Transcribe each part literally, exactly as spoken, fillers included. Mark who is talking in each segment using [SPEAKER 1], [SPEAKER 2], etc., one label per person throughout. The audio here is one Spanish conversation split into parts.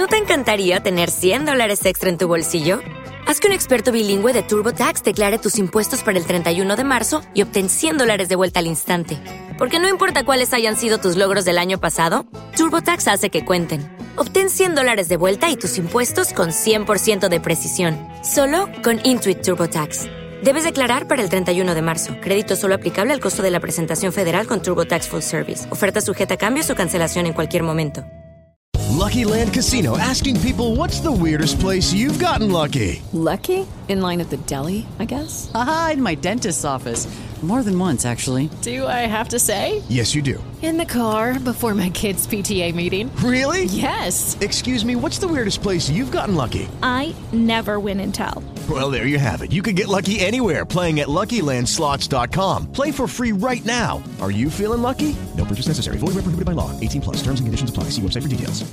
[SPEAKER 1] ¿No te encantaría tener cien dólares extra en tu bolsillo? Haz que un experto bilingüe de TurboTax declare tus impuestos para el treinta y uno de marzo y obtén cien dólares de vuelta al instante. Porque no importa cuáles hayan sido tus logros del año pasado, TurboTax hace que cuenten. Obtén cien dólares de vuelta y tus impuestos con cien por ciento de precisión. Solo con Intuit TurboTax. Debes declarar para el treinta y uno de marzo. Crédito solo aplicable al costo de la presentación federal con TurboTax Full Service. Oferta sujeta a cambios o cancelación en cualquier momento.
[SPEAKER 2] Lucky Land Casino, asking people, what's the weirdest place you've gotten lucky?
[SPEAKER 3] Lucky? In line at the deli, I guess?
[SPEAKER 4] Aha, in my dentist's office. More than once, actually.
[SPEAKER 3] Do I have to say?
[SPEAKER 2] Yes, you do.
[SPEAKER 3] In the car before my kids' P T A meeting.
[SPEAKER 2] Really?
[SPEAKER 3] Yes.
[SPEAKER 2] Excuse me, what's the weirdest place you've gotten lucky?
[SPEAKER 5] I never win and tell.
[SPEAKER 2] Well, there you have it. You can get lucky anywhere, playing at Lucky Land Slots dot com. Play for free right now. Are you feeling lucky? No purchase necessary. Void where prohibited by law. eighteen plus. Terms and conditions apply. See website for details.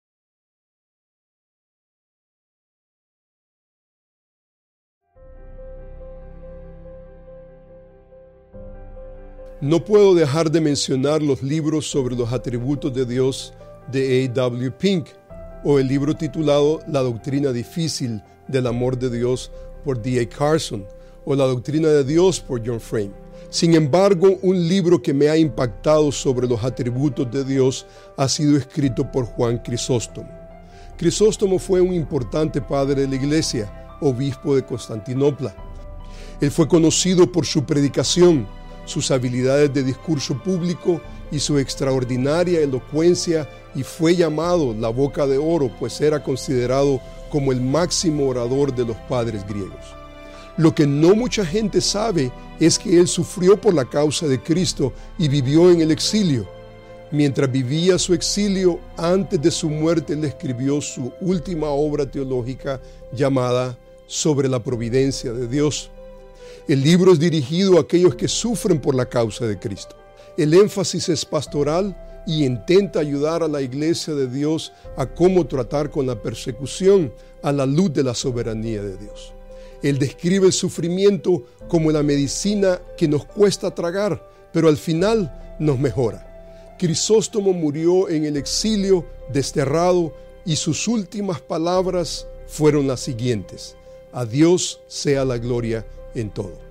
[SPEAKER 6] No puedo dejar de mencionar los libros sobre los atributos de Dios de A W Pink o el libro titulado La doctrina difícil del amor de Dios por D A Carson o La doctrina de Dios por John Frame. Sin embargo, un libro que me ha impactado sobre los atributos de Dios ha sido escrito por Juan Crisóstomo. Crisóstomo fue un importante padre de la Iglesia, obispo de Constantinopla. Él fue conocido por su predicación, sus habilidades de discurso público y su extraordinaria elocuencia, y fue llamado la boca de oro, pues era considerado como el máximo orador de los padres griegos. Lo que no mucha gente sabe es que él sufrió por la causa de Cristo y vivió en el exilio. Mientras vivía su exilio, antes de su muerte, le escribió su última obra teológica llamada Sobre la providencia de Dios. El libro es dirigido a aquellos que sufren por la causa de Cristo. El énfasis es pastoral y intenta ayudar a la Iglesia de Dios a cómo tratar con la persecución a la luz de la soberanía de Dios. Él describe el sufrimiento como la medicina que nos cuesta tragar, pero al final nos mejora. Crisóstomo murió en el exilio, desterrado, y sus últimas palabras fueron las siguientes: a Dios sea la gloria en todo.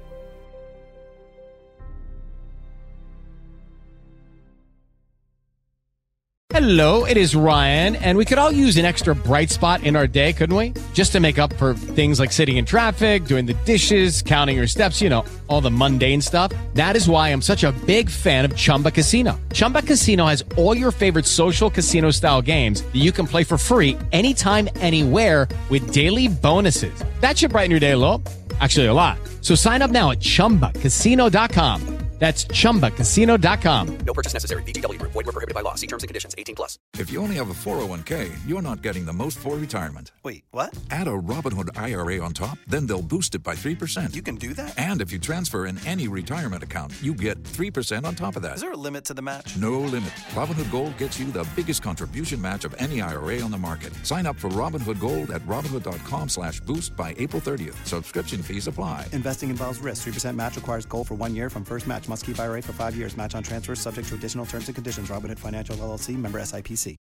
[SPEAKER 7] Hello, it is Ryan, and we could all use an extra bright spot in our day, couldn't we? Just to make up for things like sitting in traffic, doing the dishes, counting your steps, you know, all the mundane stuff. That is why I'm such a big fan of Chumba Casino. Chumba Casino has all your favorite social casino-style games that you can play for free anytime, anywhere with daily bonuses. That should brighten your day a little. Actually, a lot. So sign up now at chumba casino dot com. That's chumba casino dot com.
[SPEAKER 8] No purchase necessary. V G W Group. Void where prohibited by law. See terms and conditions. eighteen plus.
[SPEAKER 9] If you only have a four oh one k, you're not getting the most for retirement.
[SPEAKER 8] Wait, what?
[SPEAKER 9] Add a Robinhood I R A on top, then they'll boost it by three percent.
[SPEAKER 8] You can do that?
[SPEAKER 9] And if you transfer in any retirement account, you get three percent on top of that.
[SPEAKER 8] Is there a limit to the match?
[SPEAKER 9] No limit. Robinhood Gold gets you the biggest contribution match of any I R A on the market. Sign up for Robinhood Gold at Robinhood.com slash boost by April thirtieth. Subscription fees apply.
[SPEAKER 10] Investing involves risk. three percent match requires gold for one year from first match. Must keep I R A for five years. Match on transfers subject to additional terms and conditions. Robinhood Financial L L C, member S I P C.